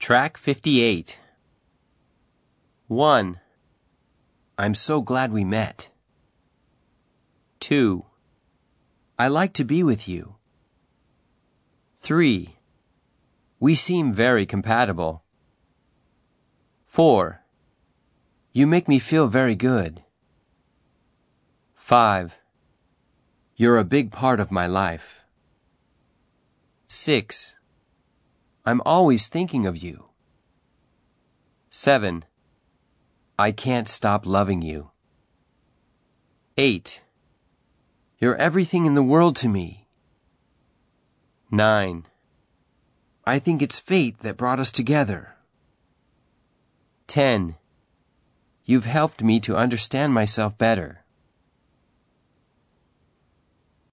Track 58. 1. I'm so glad we met. 2. I like to be with you. 3. We seem very compatible. 4. You make me feel very good. 5. You're a big part of my life. 6. I'm always thinking of you. 7. I can't stop loving you. 8. You're everything in the world to me. 9. I think it's fate that brought us together. 10. You've helped me to understand myself better.